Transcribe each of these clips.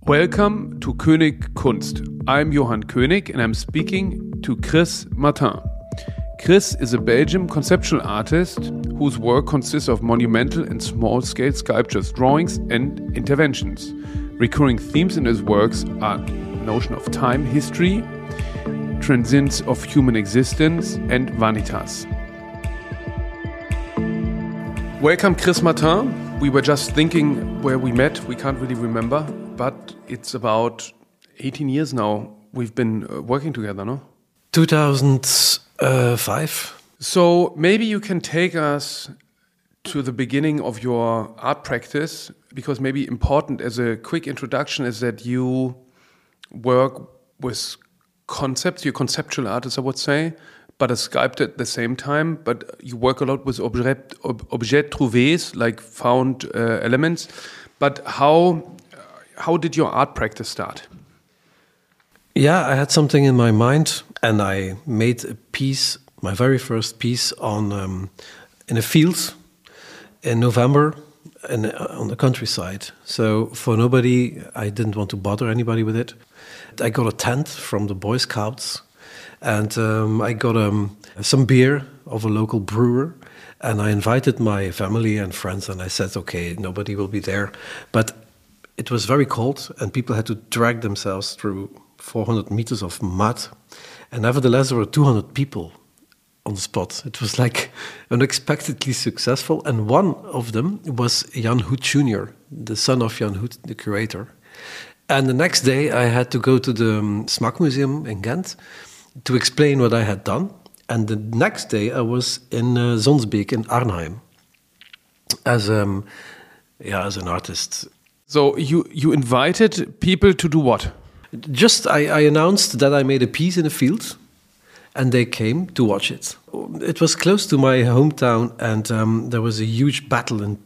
Welcome to König Kunst. I'm Johann König and I'm speaking to Chris Martin. Chris is a Belgian conceptual artist whose work consists of monumental and small-scale sculptures, drawings and interventions. Recurring themes in his works are notion of time, history, transience of human existence and vanitas. Welcome, Chris Martin. We were just thinking where we met. We can't really remember, but it's about 18 years now we've been working together, no? 2005. So maybe you can take us to the beginning of your art practice, because maybe important as a quick introduction is that you work with concepts. You're a conceptual artist, I would say, but a sculptor at the same time. But you work a lot with objets trouvés, like found elements. But how did your art practice start? Yeah, I had something in my mind, and I made a piece, my very first piece, on in a field in November and on the countryside. So for nobody, I didn't want to bother anybody with it. I got a tent from the Boy Scouts, and I got some beer of a local brewer, and I invited my family and friends, and I said, okay, nobody will be there. But it was very cold, and people had to drag themselves through 400 meters of mud. And nevertheless, there were 200 people on the spot. It was like unexpectedly successful. And one of them was Jan Hoet Jr., the son of Jan Hoet, the curator. And the next day, I had to go to the Smaak Museum in Ghent to explain what I had done. And the next day, I was in Zonsbeek in Arnhem as an artist. So you invited people to do what? Just I announced that I made a piece in a field, and they came to watch it. It was close to my hometown, and there was a huge battle in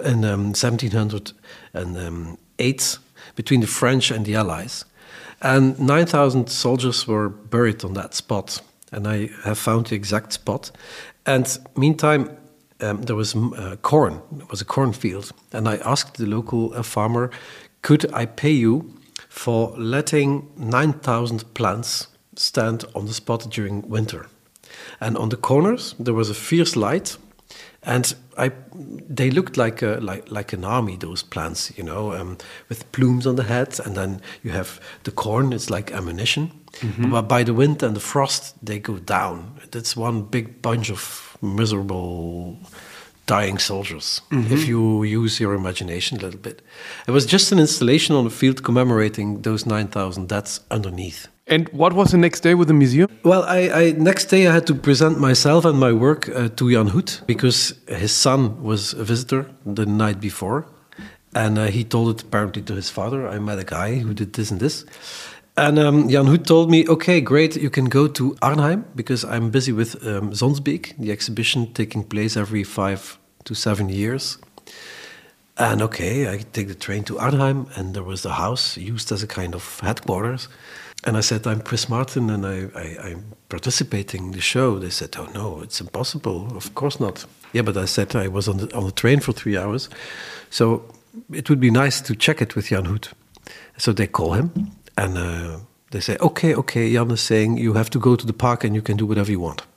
1708 between the French and the Allies. And 9,000 soldiers were buried on that spot, and I have found the exact spot. And meantime, there was corn. It was a cornfield, and I asked the local farmer, could I pay you for letting 9,000 plants stand on the spot during winter? And on the corners there was a fierce light, and they looked like an army, those plants, with plumes on the head, and then you have the corn, it's like ammunition. Mm-hmm. But by the wind and the frost, they go down. It's one big bunch of miserable dying soldiers, mm-hmm. if you use your imagination a little bit. It was just an installation on the field commemorating those 9,000 deaths underneath. And what was the next day with the museum? Well, next day I had to present myself and my work to Jan Hoet, because his son was a visitor the night before. And he told it apparently to his father. I met a guy who did this and this. And Jan Hoet told me, okay, great, you can go to Arnhem, because I'm busy with Zonsbeek, the exhibition taking place every 5 to 7 years. And okay, I take the train to Arnhem, and there was the house used as a kind of headquarters. And I said, I'm Chris Martin, and I'm participating in the show. They said, oh no, it's impossible, of course not. Yeah, but I said I was on the train for 3 hours, so it would be nice to check it with Jan Hoet. So they call him. And they say, okay, Jan is saying you have to go to the park and you can do whatever you want.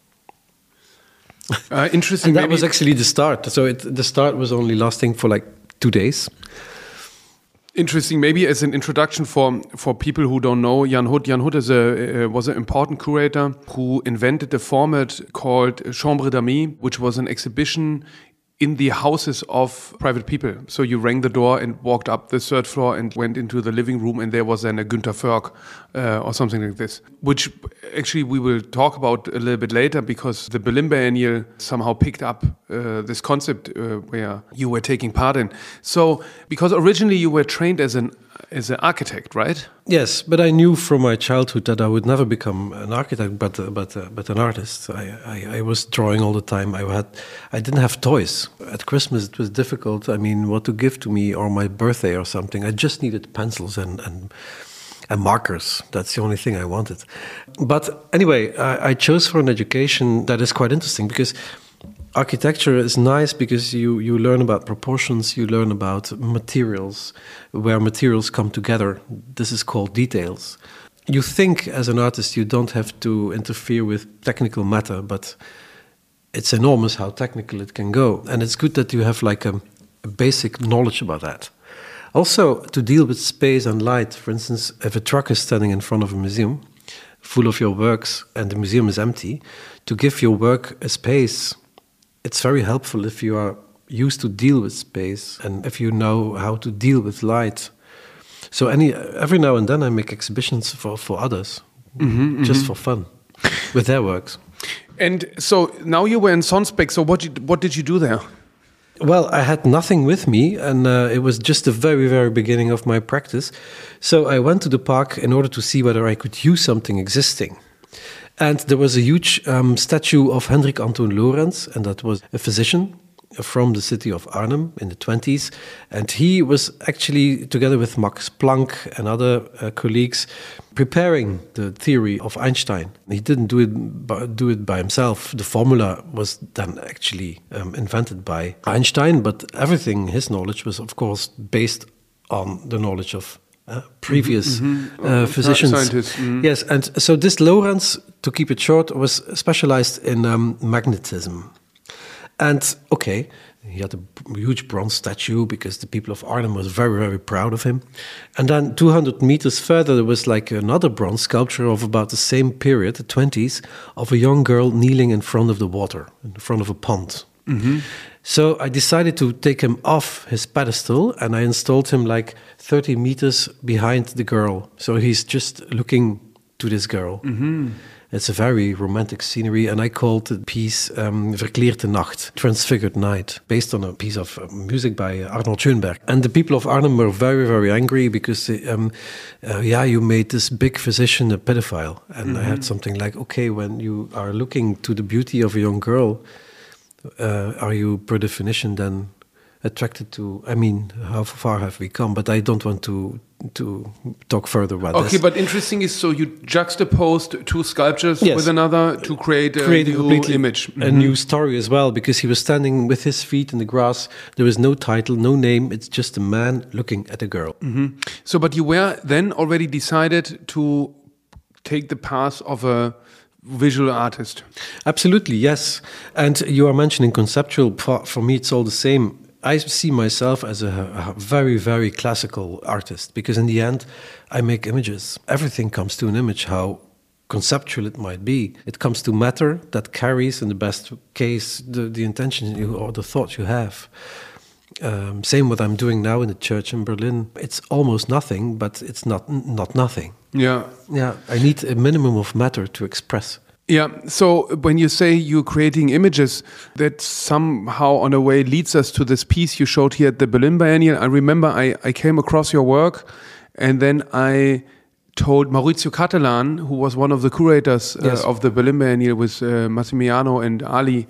Interesting. And that was actually the start. So the start was only lasting for like 2 days. Interesting. Maybe as an introduction for people who don't know Jan Hoet. Jan Hoet was an important curator who invented a format called Chambre d'Amis, which was an exhibition in the houses of private people. So you rang the door and walked up the third floor and went into the living room, and there was then a Günter Förk or something like this, which actually we will talk about a little bit later, because the Berlin Biennial somehow picked up this concept where you were taking part in. So, because originally you were trained as an architect, right? Yes, but I knew from my childhood that I would never become an architect, but an artist. I was drawing all the time. I didn't have toys. At Christmas it was difficult. I mean, what to give to me, or my birthday or something. I just needed pencils and markers. That's the only thing I wanted. But anyway, I chose for an education that is quite interesting, because Architecture is nice because you learn about proportions, you learn about materials, where materials come together. This is called details. You think as an artist you don't have to interfere with technical matter, but it's enormous how technical it can go. And it's good that you have like a basic knowledge about that. Also, to deal with space and light, for instance, if a truck is standing in front of a museum full of your works and the museum is empty, to give your work a space, it's very helpful if you are used to deal with space and if you know how to deal with light. So every now and then I make exhibitions for others, just for fun, with their works. And so now you were in Sonsbeck, so what did you do there? Well, I had nothing with me, and it was just the very, very beginning of my practice. So I went to the park in order to see whether I could use something existing. And there was a huge statue of Hendrik Antoon Lorentz, and that was a physician from the city of Arnhem in the 20s. And he was actually, together with Max Planck and other colleagues, preparing the theory of Einstein. He didn't do it by himself. The formula was then actually invented by Einstein, but everything, his knowledge, was of course based on the knowledge of previous physicians. Scientists. Yes, and so this Lorentz, to keep it short, was specialized in magnetism. And okay, he had a huge bronze statue because the people of Arnhem was very, very proud of him. And then 200 meters further, there was like another bronze sculpture of about the same period, the 20s, of a young girl kneeling in front of the water, in front of a pond. So I decided to take him off his pedestal and I installed him like 30 meters behind the girl. So he's just looking to this girl. It's a very romantic scenery, and I called the piece Verkleerde Nacht, Transfigured Night, based on a piece of music by Arnold Schoenberg. And the people of Arnhem were very, very angry because, you made this big physician a pedophile. And I had something like, okay, when you are looking to the beauty of a young girl, are you, per definition, then attracted to, how far have we come? But I don't want to talk further about this. Okay, but interesting is, so you juxtaposed two sculptures with another to create a new image. A new story as well, because he was standing with his feet in the grass. There was no title, no name. It's just a man looking at a girl. So, but you were then already decided to take the path of a visual artist. Absolutely, yes. And you are mentioning conceptual. For me, it's all the same. I see myself as a very, very classical artist because in the end, I make images. Everything comes to an image, how conceptual it might be. It comes to matter that carries, in the best case, the intention or the thought you have. Same what I'm doing now in the church in Berlin. It's almost nothing, but it's not nothing. Yeah. I need a minimum of matter to express. Yeah, so when you say you're creating images, that somehow on a way leads us to this piece you showed here at the Berlin Biennial. I remember I came across your work and then I told Maurizio Cattelan, who was one of the curators of the Berlin Biennial with Massimiliano and Ali,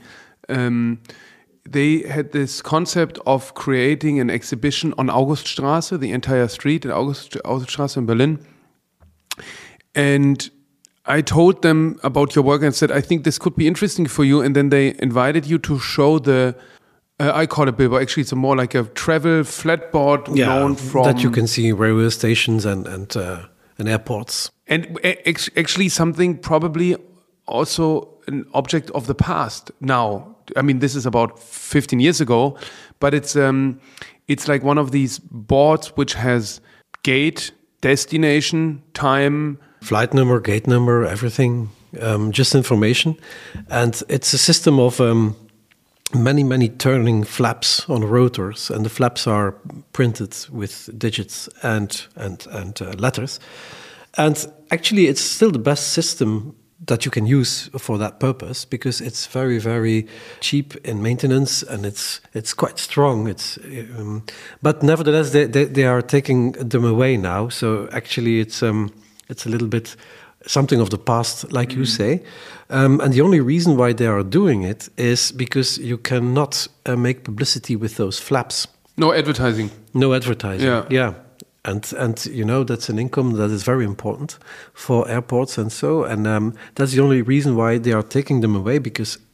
they had this concept of creating an exhibition on Auguststraße, the entire street at Auguststraße in Berlin. And I told them about your work and said, I think this could be interesting for you. And then they invited you to show the, I call it billboard. Actually, it's more like a travel flatboard known from... that you can see railway stations and airports. And actually something probably also an object of the past now. I mean, this is about 15 years ago, but it's like one of these boards which has gate, destination, time... Flight number, gate number, everything, just information. And it's a system of many, many turning flaps on rotors. And the flaps are printed with digits and letters. And actually, it's still the best system that you can use for that purpose because it's very, very cheap in maintenance and it's quite strong. But nevertheless, they are taking them away now. So actually, it's a little bit something of the past, like you say. And the only reason why they are doing it is because you cannot make publicity with those flaps. No advertising. No advertising, yeah. And that's an income that is very important for airports and so. And that's the only reason why they are taking them away, because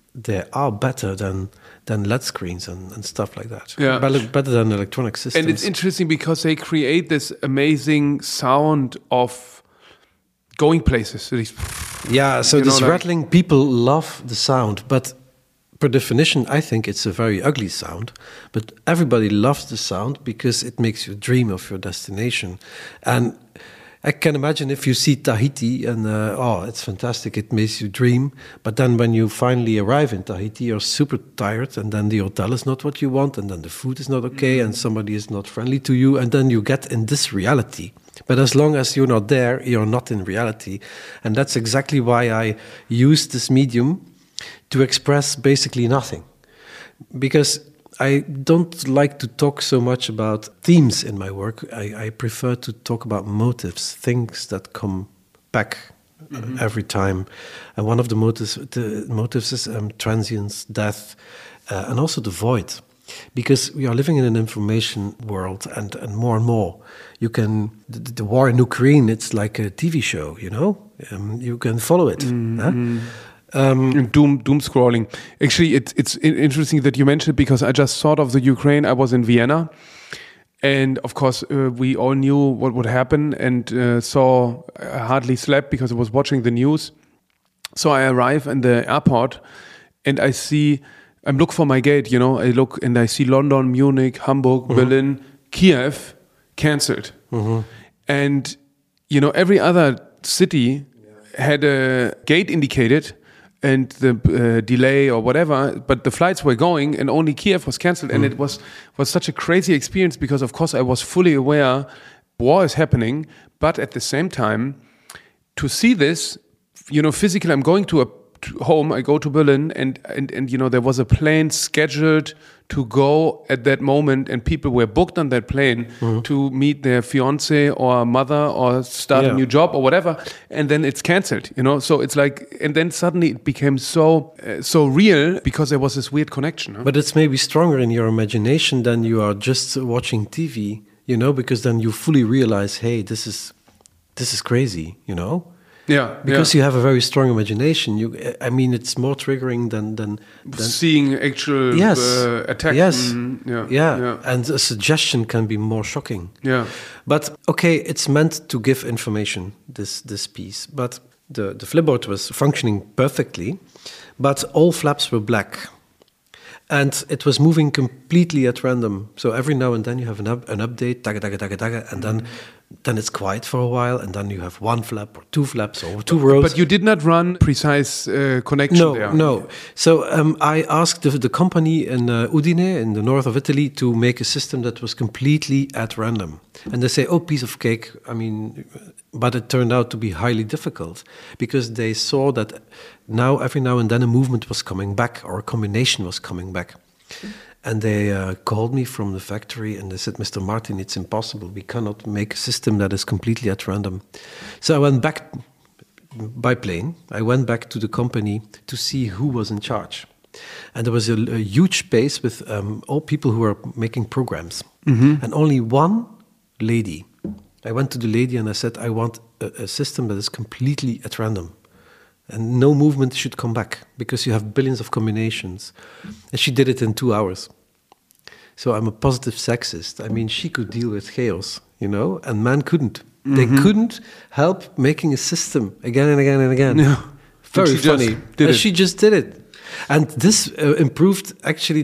they are better than LED screens and stuff like that. Yeah. Better than electronic systems. And it's interesting because they create this amazing sound of going places. Yeah, so this rattling, people love the sound, but per definition, I think it's a very ugly sound. But everybody loves the sound because it makes you dream of your destination. And I can imagine if you see Tahiti and, it's fantastic, it makes you dream. But then when you finally arrive in Tahiti, you're super tired, and then the hotel is not what you want, and then the food is not okay, and somebody is not friendly to you, and then you get in this reality. But as long as you're not there, you're not in reality. And that's exactly why I use this medium to express basically nothing. Because I don't like to talk so much about themes in my work. I prefer to talk about motives, things that come back every time. And one of the motives is transience, death, and also the void. Because we are living in an information world, and more. You can the war in Ukraine. It's like a TV show, you know. You can follow it. Doom scrolling. Actually, it's interesting that you mentioned, because I just thought of the Ukraine. I was in Vienna, and of course we all knew what would happen, and I hardly slept because I was watching the news. So I arrive in the airport, and I'm looking for my gate, you know. I look and I see London, Munich, Hamburg, Berlin, Kiev cancelled, and you know, every other city had a gate indicated and the delay or whatever, but the flights were going, and only Kiev was cancelled. And it was such a crazy experience, because of course I was fully aware war is happening, but at the same time, to see this, you know, physically, I'm going to home, I go to Berlin, and you know, there was a plane scheduled to go at that moment, and people were booked on that plane to meet their fiance or mother or start a new job or whatever, and then it's cancelled, you know. So it's like, and then suddenly it became so real, because there was this weird connection. Huh? But it's maybe stronger in your imagination than you are just watching TV, you know, because then you fully realize, hey, this is crazy, you know. Yeah, because you have a very strong imagination. I mean, it's more triggering than seeing actual attack. Yes, and a suggestion can be more shocking. Yeah, but okay, it's meant to give information. This piece, but the Flipboard was functioning perfectly, but all flaps were black, and it was moving completely at random. So every now and then you have an update, daga daga daga daga, and then it's quiet for a while, and then you have one flap or two flaps or two rows. But you did not run precise connection there. No. So I asked the company in Udine, in the north of Italy, to make a system that was completely at random. And they say, oh, piece of cake. I mean, but it turned out to be highly difficult, because they saw that every now and then a movement was coming back, or a combination was coming back. And they called me from the factory, and they said, Mr. Martin, it's impossible. We cannot make a system that is completely at random. So I went back by plane. I went back to the company to see who was in charge. And there was a huge space with all people who were making programs. And only one lady. I went to the lady and I said, I want a system that is completely at random. And no movement should come back, because you have billions of combinations. And she did it in 2 hours. So I'm a positive sexist. I mean, she could deal with chaos, you know, and man couldn't. They couldn't help making a system again and again and again. Yeah. Very funny. She just did it. And this improved actually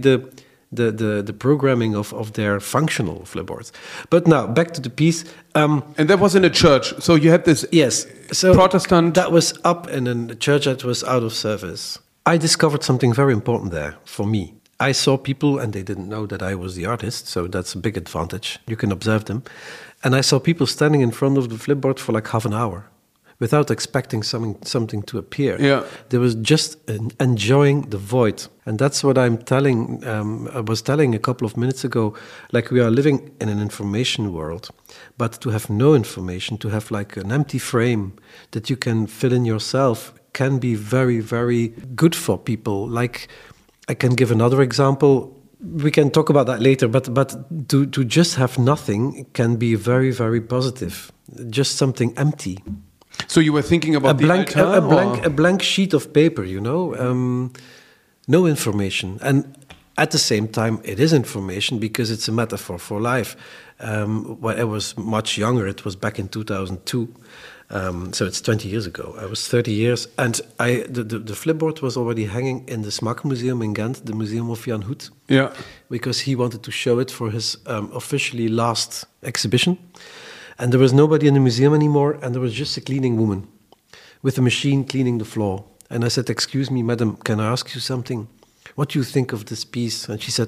the programming of their functional Flipboards. But now, back to the piece. And that was in a church. So you had this Protestant... That was up in a church that was out of service. I discovered something very important there for me. I saw people, and they didn't know that I was the artist, so that's a big advantage. You can observe them. And I saw people standing in front of the Flipboard for like half an hour, without expecting something to appear. Yeah. They was just enjoying the void. And that's what I'm telling, I was telling a couple of minutes ago, like we are living in an information world, but to have no information, to have like an empty frame that you can fill in yourself, can be very, very good for people. Like, I can give another example. We can talk about that later, but to just have nothing can be very, very positive. Just something empty. So you were thinking about a blank sheet of paper, you know. No information. And at the same time, it is information because it's a metaphor for life. When I was much younger, it was back in 2002. So it's 20 years ago. I was 30 years. And the flipboard was already hanging in the Smaak Museum in Ghent, the museum of Jan Hoet. Yeah. Because he wanted to show it for his officially last exhibition. And there was nobody in the museum anymore, and there was just a cleaning woman with a machine cleaning the floor. And I said, "Excuse me, madam, can I ask you something? What do you think of this piece?" And she said,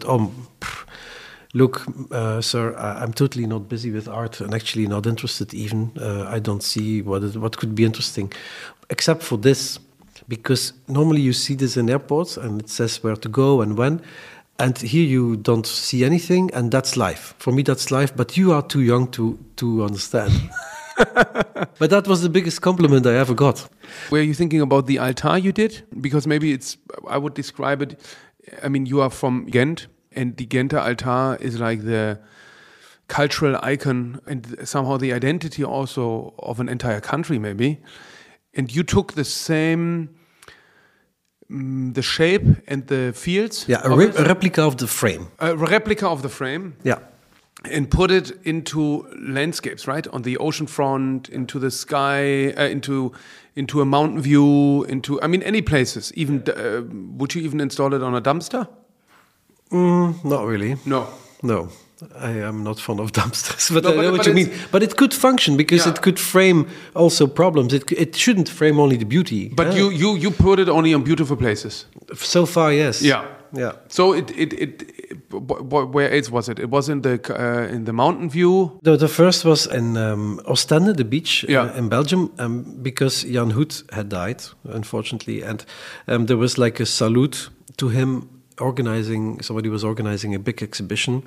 "Look, sir, I'm totally not busy with art and actually not interested even. I don't see what could be interesting, except for this. Because normally you see this in airports and it says where to go and when. And here you don't see anything, and that's life. For me, that's life, but you are too young to understand." But that was the biggest compliment I ever got. Were you thinking about the altar you did? Because maybe I would describe it, I mean, you are from Ghent, and the Ghenter altar is like the cultural icon and somehow the identity also of an entire country, maybe. And you took the same, the shape and the fields. Yeah, a replica of the frame. A replica of the frame. Yeah. And put it into landscapes, right? On the ocean front, into the sky, into a mountain view, any places. Even would you even install it on a dumpster? Not really. No. I am not fond of dumpsters, but I know what you mean. But it could function because it could frame also problems. It shouldn't frame only the beauty. But you put it only on beautiful places. So far, yes. Yeah. So where else was it? It was in the mountain view. The first was in Ostende, the beach in Belgium, because Jan Hoet had died, unfortunately, and there was like a salute to him. Somebody was organizing a big exhibition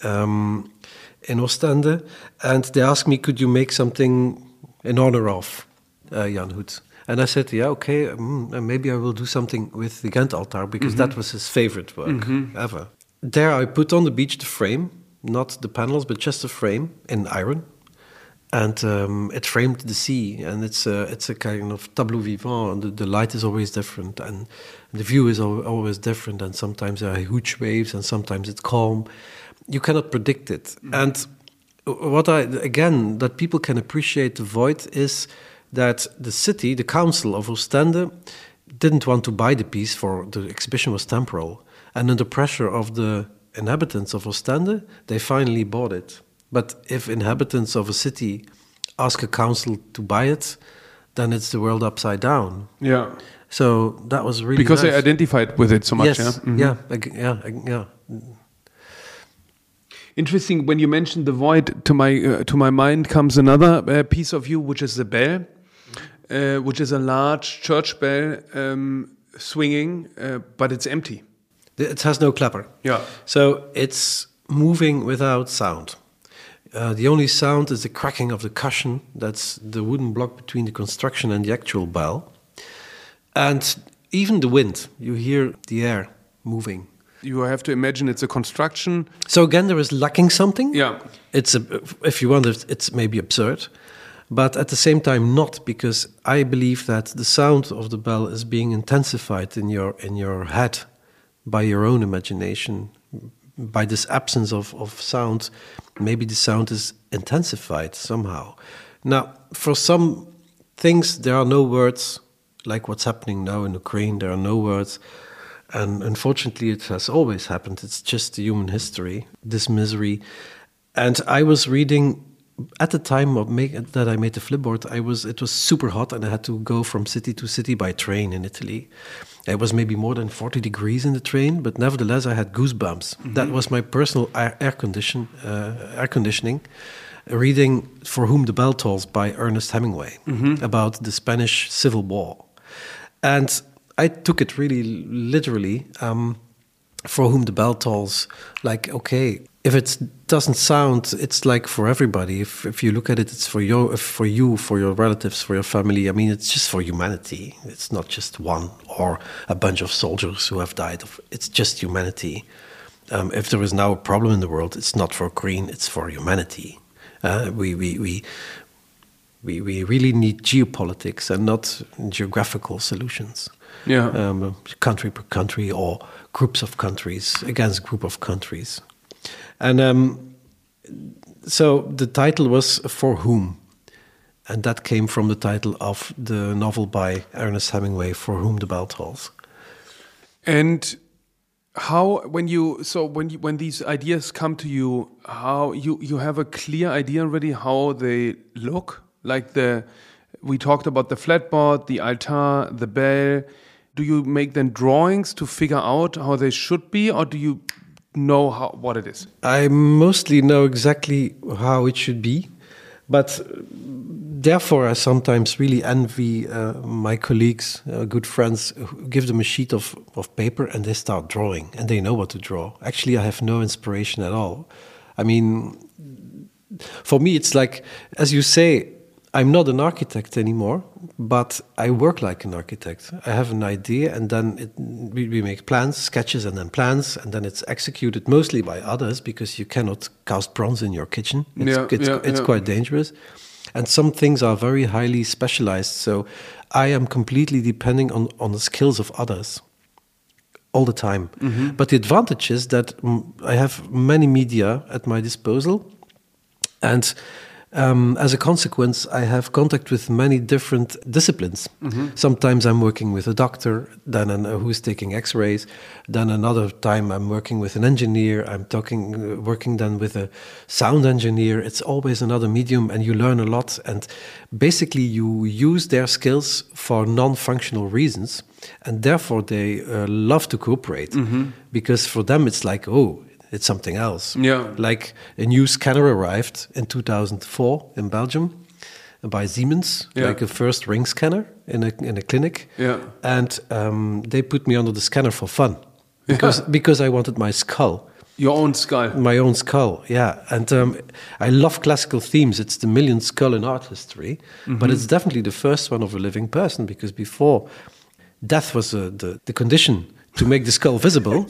in Ostende, and they asked me, "Could you make something in honor of Jan Hoet?" And I said, "Yeah, okay, maybe I will do something with the Ghent altar because that was his favorite work ever." There I put on the beach the frame, not the panels, but just the frame in iron. And it framed the sea, and it's a kind of tableau vivant. The light is always different, and the view is always different. And sometimes there are huge waves, and sometimes it's calm. You cannot predict it. And that people can appreciate the void is that the city, the council of Ostende, didn't want to buy the piece for the exhibition was temporal, and under pressure of the inhabitants of Ostende, they finally bought it. But if inhabitants of a city ask a council to buy it, then it's the world upside down. Yeah. So that was really because nice. They identified with it so much. Yes. Yeah. Mm-hmm. Yeah. Interesting. When you mentioned the void, to my mind comes another piece of you, which is the bell, which is a large church bell swinging, but it's empty. It has no clapper. Yeah. So it's moving without sound. The only sound is the cracking of the cushion. That's the wooden block between the construction and the actual bell. And even the wind, you hear the air moving. You have to imagine it's a construction. So again, there is lacking something. Yeah. If you want, it's maybe absurd. But at the same time not, because I believe that the sound of the bell is being intensified in your head by your own imagination. By this absence of sound, maybe the sound is intensified somehow. Now, for some things, there are no words, like what's happening now in Ukraine, there are no words. And unfortunately, it has always happened. It's just the human history, this misery. And I was reading, at the time that I made the flipboard, it was super hot and I had to go from city to city by train in Italy. It was maybe more than 40 degrees in the train, but nevertheless I had goosebumps. Mm-hmm. That was my personal air conditioning. Reading For Whom the Bell Tolls by Ernest Hemingway about the Spanish Civil War. And I took it really literally. For Whom the Bell Tolls, like, okay, if it doesn't sound, it's like for everybody. If you look at it, it's for you, for your relatives, for your family. I mean, it's just for humanity. It's not just one or a bunch of soldiers who have died. It's just humanity. If there is now a problem in the world, it's not for Green, it's for humanity. We really need geopolitics and not geographical solutions. Yeah. Country per country or groups of countries against group of countries. And so the title was For Whom? And that came from the title of the novel by Ernest Hemingway, For Whom the Bell Tolls. And how, when these ideas come to you, how you have a clear idea already how they look? Like we talked about the flatboard, the altar, the bell. Do you make then drawings to figure out how they should be, or do you know what it is? I mostly know exactly how it should be, but therefore I sometimes really envy my colleagues, good friends, who give them a sheet of paper and they start drawing and they know what to draw. Actually, I have no inspiration at all. I mean, for me, it's like, as you say, I'm not an architect anymore, but I work like an architect. I have an idea, and then we make plans, sketches, and then it's executed mostly by others, because you cannot cast bronze in your kitchen. It's quite dangerous. And some things are very highly specialized, so I am completely depending on the skills of others all the time. Mm-hmm. But the advantage is that I have many media at my disposal, and as a consequence, I have contact with many different disciplines. Mm-hmm. Sometimes I'm working with a doctor, then who's taking X-rays. Then another time I'm working with an engineer. I'm working then with a sound engineer. It's always another medium, and you learn a lot. And basically, you use their skills for non-functional reasons, and therefore they love to cooperate, because for them it's like, oh, it's something else. Yeah. Like a new scanner arrived in 2004 in Belgium by Siemens, like a first ring scanner in a clinic. Yeah. And they put me under the scanner for fun because I wanted my skull. Your own skull. My own skull, yeah. And I love classical themes. It's the millionth skull in art history, but it's definitely the first one of a living person, because before, death was the condition to make the skull visible.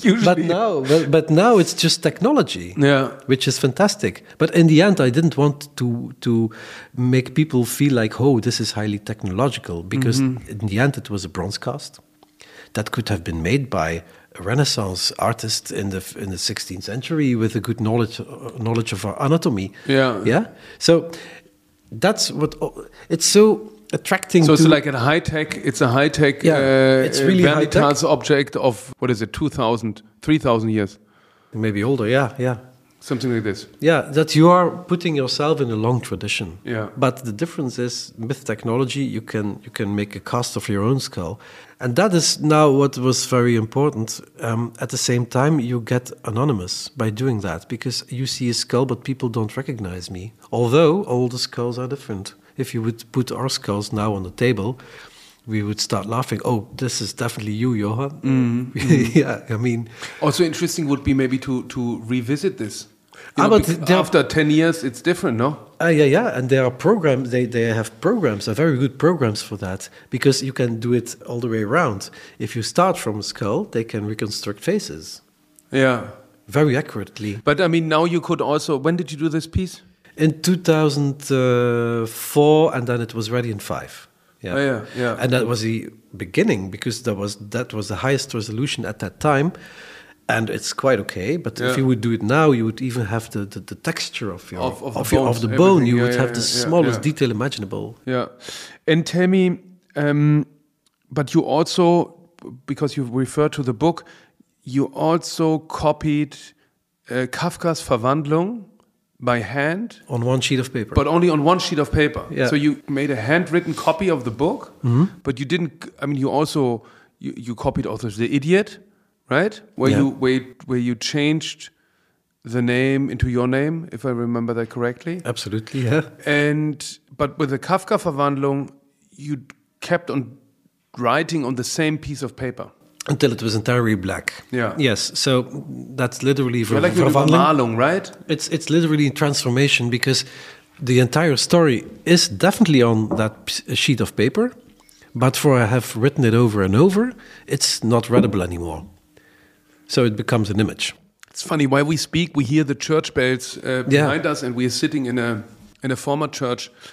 but now it's just technology, which is fantastic. But in the end, I didn't want to make people feel like, oh, this is highly technological, because in the end, it was a bronze cast that could have been made by a Renaissance artist in the 16th century with a good knowledge of our anatomy. Yeah. So that's what it's so attracting. So it's like a high tech. It's a high tech. It's really Vanitas object of, what is it, 3,000 years, maybe older. Yeah. Something like this. Yeah, that you are putting yourself in a long tradition. Yeah. But the difference is, with technology, you can make a cast of your own skull, and that is now what was very important. At the same time, you get anonymous by doing that, because you see a skull, but people don't recognize me. Although all the skulls are different. If you would put our skulls now on the table, we would start laughing. Oh, this is definitely you, Johan. Yeah, I mean. Also interesting would be maybe to revisit this. After 10 years, it's different, no? Yeah. And there are programs, they have programs, very good programs for that, because you can do it all the way around. If you start from a skull, they can reconstruct faces. Yeah. Very accurately. But I mean, now you could also, when did you do this piece? In 2004, and then it was ready in 5. Yeah. And that was the beginning, because that was the highest resolution at that time, and it's quite okay. But if you would do it now, you would even have the texture of the bone. You would have the smallest detail imaginable. Yeah, and tell me, but you also, because you referred to the book, you also copied Kafka's Verwandlung by hand on one sheet of paper, but only on one sheet of paper. Yeah. So you made a handwritten copy of the book, but you didn't. I mean, you also you copied also The Idiot, right? Where you changed the name into your name, if I remember that correctly. Absolutely, yeah. But with the Kafka Verwandlung, you kept on writing on the same piece of paper. Until it was entirely black. Yeah. Yes. So that's literally like Verwandlung, right? It's literally transformation, because the entire story is definitely on that sheet of paper, but for I have written it over and over, it's not readable anymore. So it becomes an image. It's funny, while we speak, we hear the church bells behind us, and we are sitting in a former church.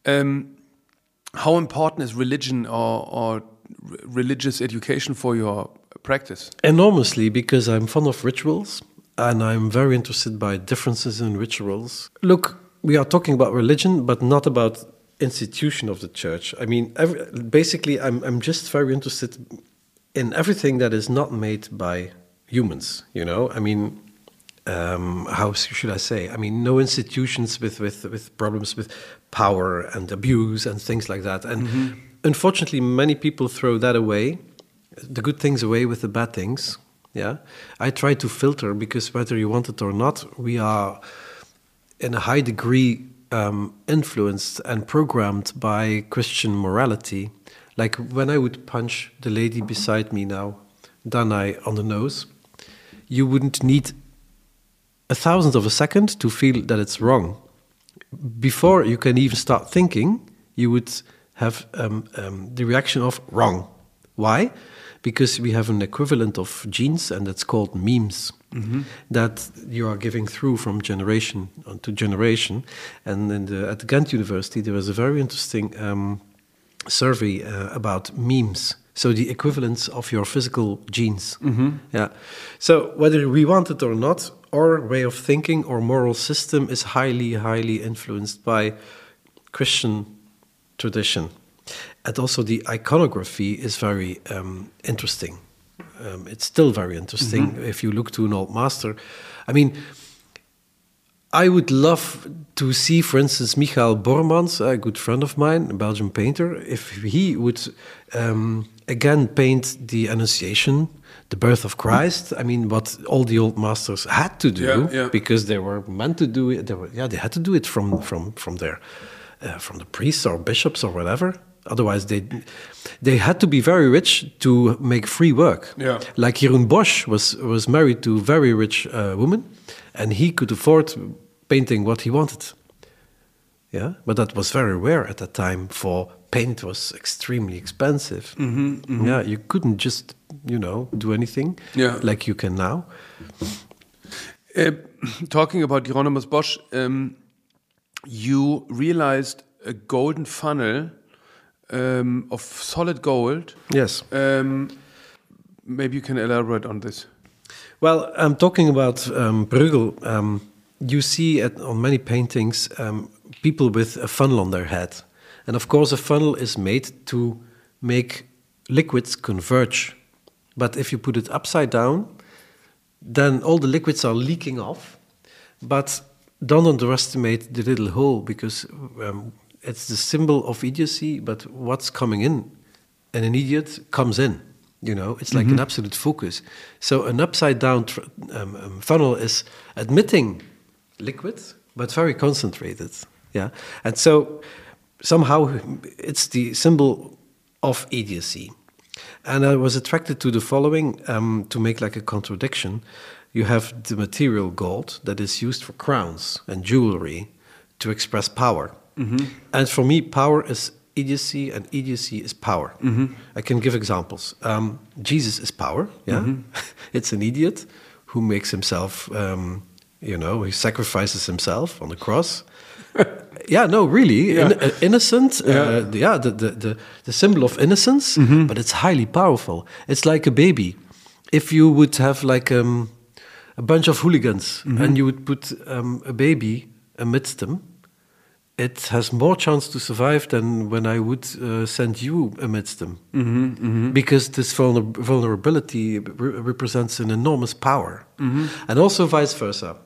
How important is religion or religious education for your practice? Enormously, because I'm fond of rituals and I'm very interested by differences in rituals. Look, we are talking about religion, but not about institution of the church. I mean, basically, I'm just very interested in everything that is not made by humans. You know, I mean, how should I say? I mean, no institutions with problems with power and abuse and things like that. And unfortunately, many people throw that away, the good things away with the bad things. Yeah, I try to filter, because whether you want it or not, we are in a high degree influenced and programmed by Christian morality. Like when I would punch the lady beside me now, Danai, on the nose, you wouldn't need a thousandth of a second to feel that it's wrong. Before you can even start thinking, you would have the reaction of wrong. Why? Because we have an equivalent of genes, and that's called memes, that you are giving through from generation to generation. And at the Ghent University, there was a very interesting survey about memes. So the equivalence of your physical genes. Yeah. So whether we want it or not, our way of thinking or moral system is highly, highly influenced by Christian tradition. And also the iconography is very interesting. It's still very interesting if you look to an old master. I mean, I would love to see, for instance, Michael Bormans, a good friend of mine, a Belgian painter, if he would again paint the Annunciation, the birth of Christ. I mean, what all the old masters had to do, because they were meant to do it. They had to do it from the priests or bishops or whatever. Otherwise, they had to be very rich to make free work. Yeah. Like Jeroen Bosch was married to a very rich woman, and he could afford painting what he wanted. Yeah, but that was very rare at that time. For paint was extremely expensive. Yeah, you couldn't just do anything like you can now. Talking about Hieronymus Bosch, you realized a golden funnel of solid gold. Yes. Maybe you can elaborate on this. Well, I'm talking about Bruegel. You see on many paintings people with a funnel on their head. And of course, a funnel is made to make liquids converge. But if you put it upside down, then all the liquids are leaking off. But don't underestimate the little hole, because it's the symbol of idiocy, but what's coming in, and an idiot comes in. It's like an absolute focus. So an upside-down funnel is admitting liquid, but very concentrated. Yeah, and so somehow it's the symbol of idiocy. And I was attracted to the following to make like a contradiction. You have the material gold that is used for crowns and jewelry to express power. And for me, power is idiocy, and idiocy is power. I can give examples. Jesus is power. Yeah, it's an idiot who makes himself, he sacrifices himself on the cross. Yeah, no, really, innocent. The symbol of innocence, but it's highly powerful. It's like a baby. If you would have like a bunch of hooligans and you would put a baby amidst them, it has more chance to survive than when I would send you amidst them. Because this vulnerability represents an enormous power. And also vice versa.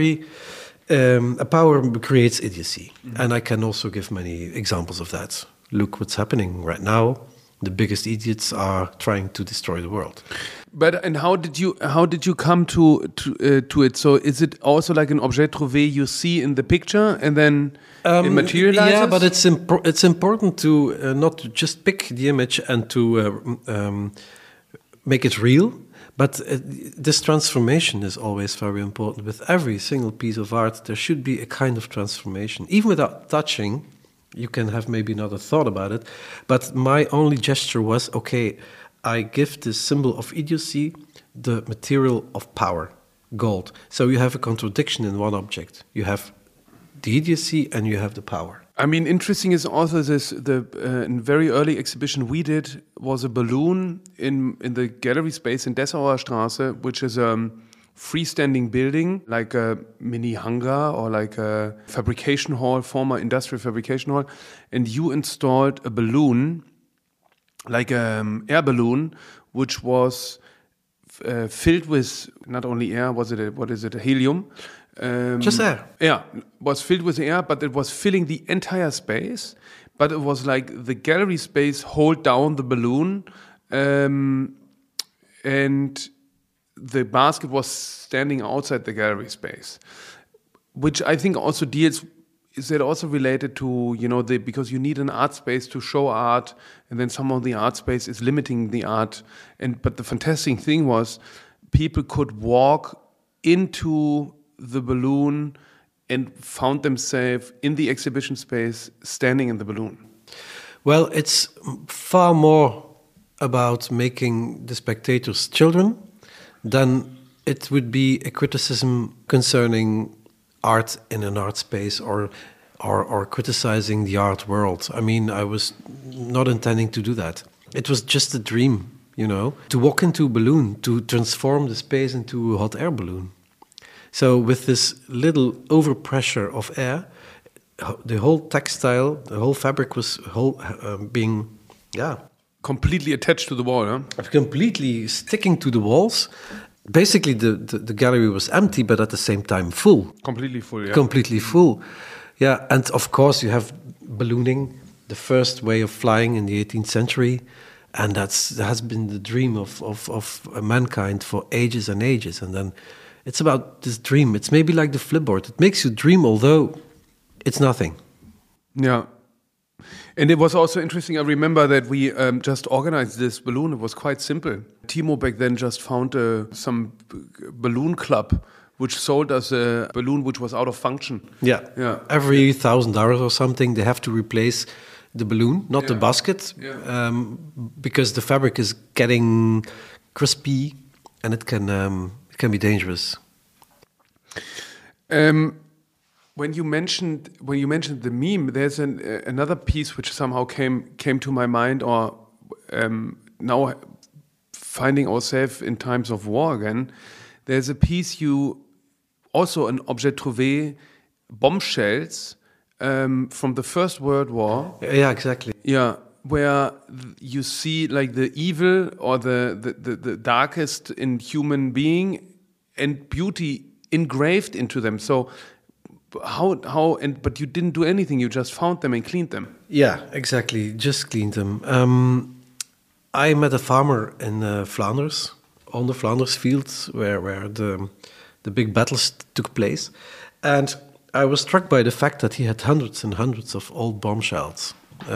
A power creates idiocy. And I can also give many examples of that. Look what's happening right now. The biggest idiots are trying to destroy the world. And how did you come to it? So is it also like an objet trouvé you see in the picture and then it materializes? Yeah, but it's important to not just pick the image and to make it real. But this transformation is always very important. With every single piece of art, there should be a kind of transformation. Even without touching, you can have maybe another thought about it. But my only gesture was, okay, I give this symbol of idiocy the material of power, gold. So you have a contradiction in one object. You have the idiocy and you have the power. I mean, interesting is also the very early exhibition we did was a balloon in the gallery space in Dessauer Straße, which is a freestanding building, like a mini hangar or like a fabrication hall, former industrial fabrication hall, and you installed a balloon, like an air balloon, which was filled with not only air, a helium? Just air. Yeah, was filled with air, but it was filling the entire space. But it was like the gallery space hold down the balloon, and the basket was standing outside the gallery space, which I think also deals. Is that also related to, because you need an art space to show art, and then somehow the art space is limiting the art. But the fantastic thing was, people could walk into the balloon and found themselves in the exhibition space, standing in the balloon. Well, it's far more about making the spectators children than it would be a criticism concerning art in an art space or criticizing the art world. I mean, I was not intending to do that. It was just a dream, to walk into a balloon, to transform the space into a hot air balloon. So with this little overpressure of air, the whole textile, the whole fabric was being, completely attached to the wall, huh? Completely sticking to the walls. Basically, the gallery was empty, but at the same time full. Completely full, yeah. Completely full. Yeah, and of course you have ballooning, the first way of flying in the 18th century, and that has been the dream of mankind for ages and ages. And then it's about this dream. It's maybe like the flipboard. It makes you dream, although it's nothing. Yeah. And it was also interesting. I remember that we just organized this balloon. It was quite simple. Timo back then just found some balloon club which sold us a balloon which was out of function. Yeah. Every $1,000 or something, they have to replace the balloon, not the basket, because the fabric is getting crispy and it can be dangerous. When you mentioned the meme, there's another piece which somehow came to my mind, or now finding ourselves in times of war again. There's a piece also an objet trouvé, bombshells from the First World War. Yeah, exactly. Yeah, where you see like the evil or the darkest in human being and beauty engraved into them. So but you didn't do anything, you just found them and cleaned them. Yeah, exactly, just cleaned them. I met a farmer in Flanders, on the Flanders fields where the big battles took place, and I was struck by the fact that he had hundreds and hundreds of old bombshells,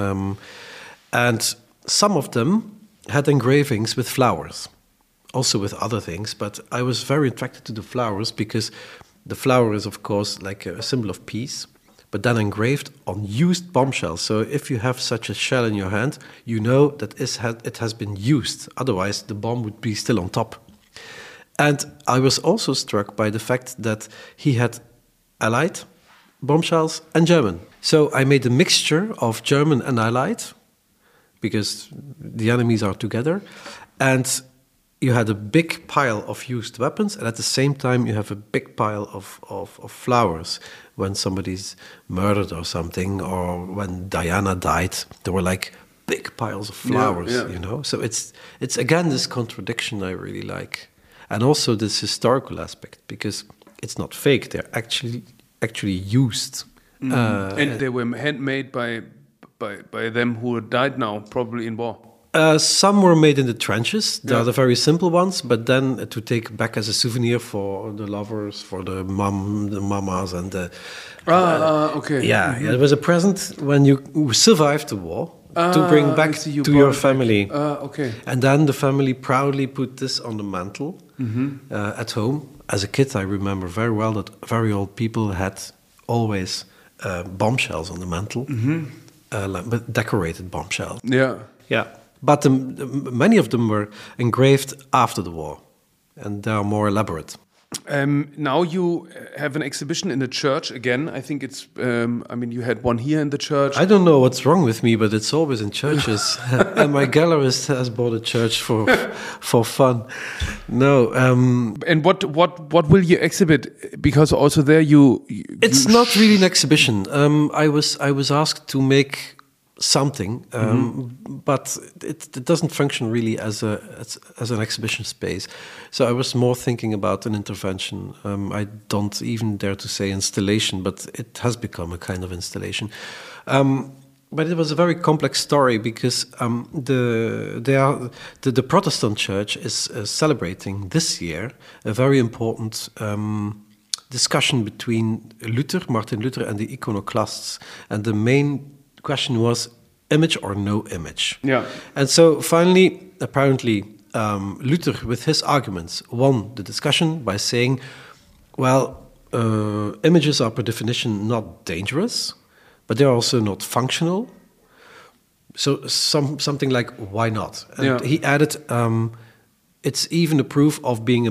and some of them had engravings with flowers, also with other things, but I was very attracted to the flowers because the flower is, of course, like a symbol of peace, but then engraved on used bombshells. So if you have such a shell in your hand, you know that it has been used. Otherwise, the bomb would be still on top. And I was also struck by the fact that he had Allied bombshells and German. So I made a mixture of German and Allied, because the enemies are together. And you had a big pile of used weapons, and at the same time you have a big pile of flowers. When somebody's murdered or something, or when Diana died, there were like big piles of flowers, So it's again this contradiction I really like. And also this historical aspect, because it's not fake, they're actually used. And they were handmade by them who died now, probably in war. Some were made in the trenches. They are the very simple ones, but then to take back as a souvenir for the lovers, for the mamas, and the... okay. Yeah, it was a present when you survived the war to bring back to your family. Okay. And then the family proudly put this on the mantle at home. As a kid, I remember very well that very old people had always bombshells on the mantle, but decorated bombshells. Yeah. Yeah. But many of them were engraved after the war, and they are more elaborate. Now you have an exhibition in the church again. I think it's, you had one here in the church. I don't know what's wrong with me, but it's always in churches. And my gallerist has bought a church for fun. No. And what will you exhibit? Because also there it's not really an exhibition. I was asked to make something, but it doesn't function really as an exhibition space. So I was more thinking about an intervention. I don't even dare to say installation, but it has become a kind of installation. But it was a very complex story because the Protestant Church is celebrating this year a very important discussion between Martin Luther, and the iconoclasts, and the main question was image or no image. Yeah. And so finally, apparently, Luther, with his arguments, won the discussion by saying, well, images are per definition not dangerous, but they're also not functional. So something like, why not? And he added, it's even a proof of being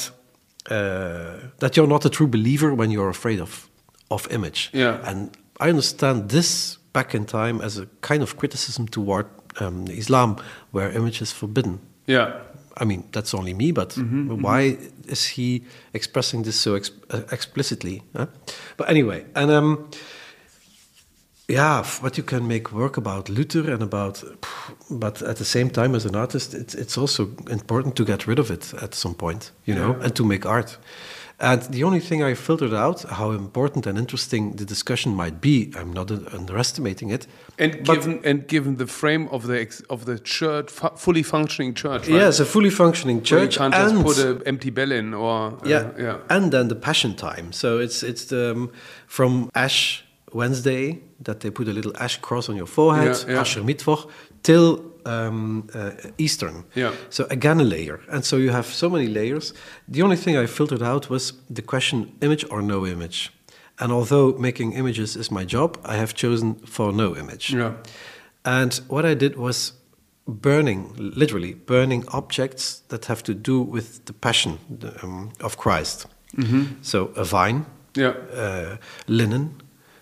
that you're not a true believer when you're afraid of image. Yeah. And I understand this back in time as a kind of criticism toward Islam, where image is forbidden. Yeah. I mean, that's only me, but why is he expressing this so explicitly? Huh? But anyway, and what you can make work about Luther and but at the same time, as an artist, it's also important to get rid of it at some point, and to make art. And the only thing I filtered out, how important and interesting the discussion might be, I'm not underestimating it. And given the frame of the church, fully functioning church, right? Yes, a fully functioning church. Where you can't just put an empty bell in, or and then the Passion time. So it's from Ash Wednesday that they put a little ash cross on your forehead, Aschermittwoch, till Eastern. Yeah. So again a layer. And so you have so many layers. The only thing I filtered out was the question, image or no image. And although making images is my job, I have chosen for no image. Yeah. And what I did was literally burning objects that have to do with the passion of Christ. Mm-hmm. So a vine, linen,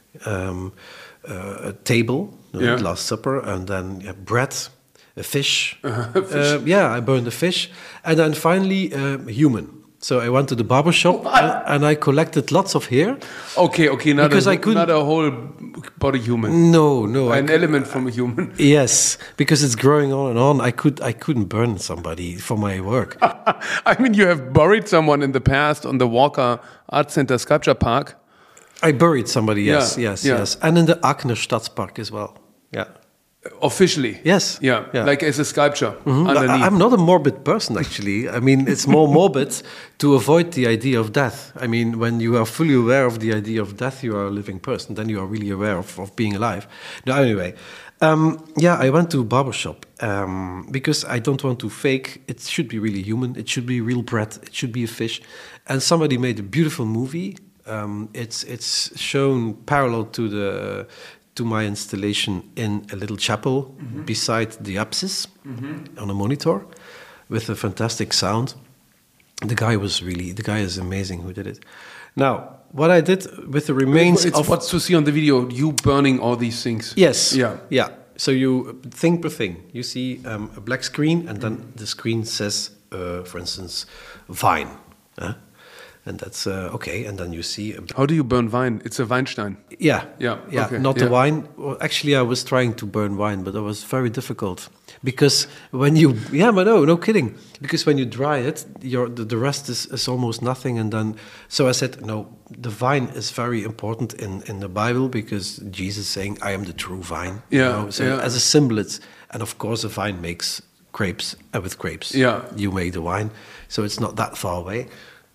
a table, Last Supper, and then bread, a fish. I burned a fish. And then finally, human. So I went to the barber shop and I collected lots of hair. Okay, not a whole body human. No, an element from a human. Yes, because it's growing on and on. I couldn't burn somebody for my work. I mean, you have buried someone in the past on the Walker Art Center Sculpture Park. I buried somebody, yes. And in the Aachener Stadspark as well, yeah. Officially? Yes. Yeah, like as a sculpture underneath. I'm not a morbid person, actually. I mean, it's more morbid to avoid the idea of death. I mean, when you are fully aware of the idea of death, you are a living person. Then you are really aware of being alive. Now, anyway, I went to a barbershop because I don't want to fake. It should be really human. It should be real bread. It should be a fish. And somebody made a beautiful movie. It's shown parallel to my installation in a little chapel beside the apsis on a monitor with a fantastic sound. The guy is amazing who did it. Now, what I did with the remains of... What's to see on the video, you burning all these things. Yes. Yeah. So you thing per thing. You see a black screen, and then the screen says, for instance, Vine. And that's okay. And then you see... How do you burn wine? It's a Weinstein. Yeah. Okay. Not the wine. Well, actually, I was trying to burn wine, but it was very difficult. Because when you... Yeah, but no kidding. Because when you dry it, the rest is almost nothing. And then... So I said, no, the vine is very important in the Bible, because Jesus is saying, I am the true vine. Yeah. So as a symbol, and of course, a vine makes grapes. With grapes, you make the wine. So it's not that far away.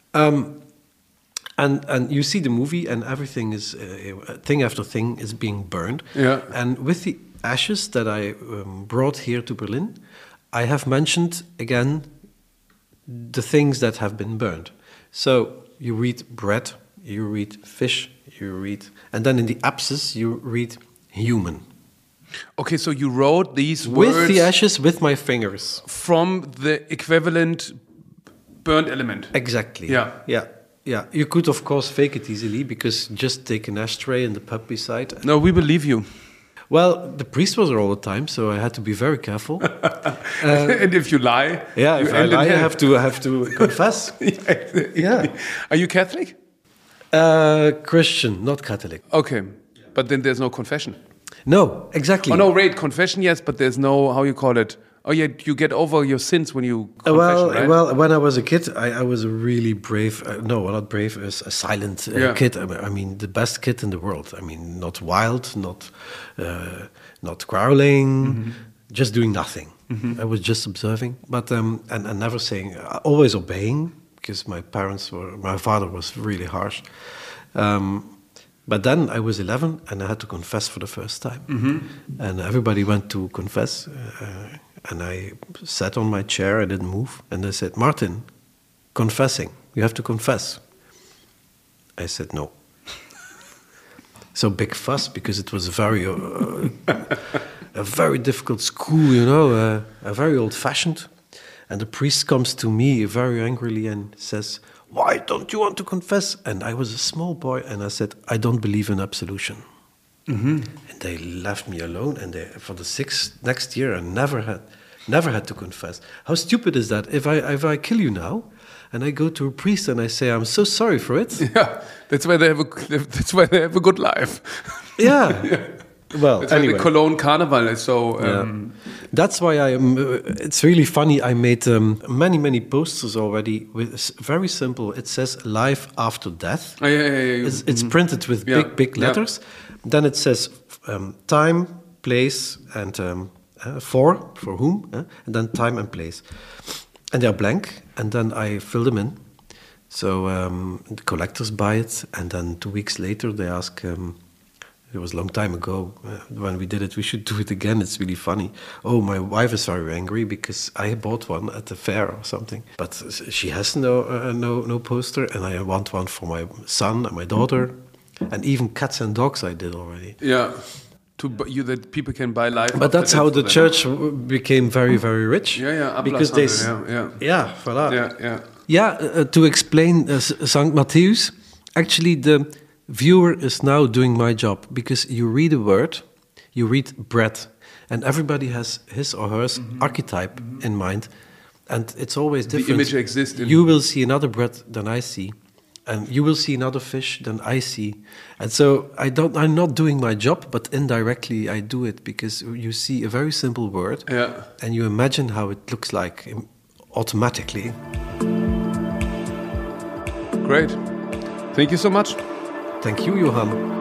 And you see the movie, and everything is thing after thing is being burned. Yeah. And with the ashes that I brought here to Berlin, I have mentioned again the things that have been burned. So you read bread, you read fish, and then in the apsis you read human. Okay, so you wrote these words with the ashes with my fingers from the equivalent burned element. Exactly. Yeah. Yeah, you could of course fake it easily because just take an ashtray in the pub beside. No, we believe you. Well, the priest was there all the time, so I had to be very careful. And if you lie, Yeah, you if I end in lie, I hell. have to confess. Yeah. Are you Catholic? Christian, not Catholic. Okay, but then there's no confession. No, exactly. Oh no, wait, confession yes, but there's no, how you call it? Oh yeah, you get over your sins when you confession, right? Well, when I was a kid, I was a really brave. No, not brave. A silent Yeah. kid. I mean, the best kid in the world. I mean, not wild, not growling, just doing nothing. I was just observing, but and never saying. Always obeying because my father was really harsh. But then I was 11 and I had to confess for the first time, and everybody went to confess. And I sat on my chair, I didn't move, and they said, Martin, confessing, you have to confess. I said, no. So big fuss, because it was a very difficult school, you know, very old-fashioned. And the priest comes to me very angrily and says, why don't you want to confess? And I was a small boy, and I said, I don't believe in absolution. And they left me alone, and for the next year, I never had to confess. How stupid is that? If I kill you now, and I go to a priest and I say I'm so sorry for it. Yeah, that's why they have a good life. Yeah. Well, that's anyway. why the Cologne Carnival is so. That's why I am. It's really funny. I made many posters already with very simple. It says "Life After Death." Oh, yeah. It's printed with big letters. Then it says time, place, and for whom, and then time and place, and they're blank. And then I fill them in. So the collectors buy it, and then 2 weeks later they ask. It was a long time ago when we did it. We should do it again. It's really funny. Oh, my wife is very angry because I bought one at the fair or something. But she has no poster, and I want one for my son and my daughter, and even cats and dogs. I did already. Yeah, that people can buy life. But that's how the church became very, very rich. Yeah. Because they. Yeah. Voilà. Yeah. Yeah. To explain Saint Matthäus, actually the viewer is now doing my job, because you read a word, you read bread, and everybody has his or her archetype in mind, and it's always different. The image exists. You will see another bread than I see, and you will see another fish than I see, and so I'm not doing my job, but indirectly I do it, because you see a very simple word, and you imagine how it looks like automatically. Great. Thank you so much. Thank you, Johan.